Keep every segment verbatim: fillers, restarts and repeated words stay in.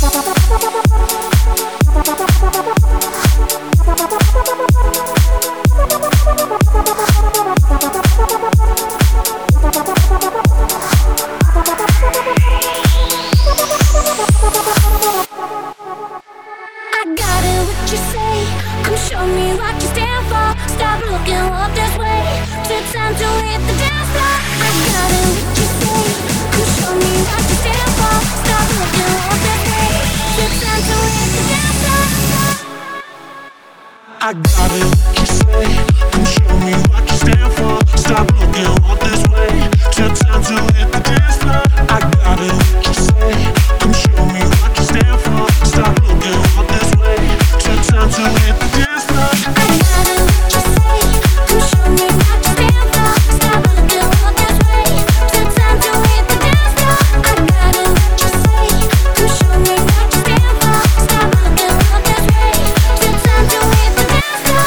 I got it, what you say. Come show me what you stand for. Stop looking all this way. Till time to hit the dance floor. I got it, what you say. Come show me what you stand for. Stop looking all this way. Till time to hit the dance floor. I got it, what you say. Come show me what you stand for. Stop looking all this way. Till time to hit the dance floor. I got it, what you say. Come show me what you stand for. Stop looking all this way. Till time to hit the dance floor.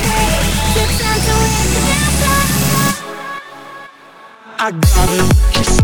I got it, what you say.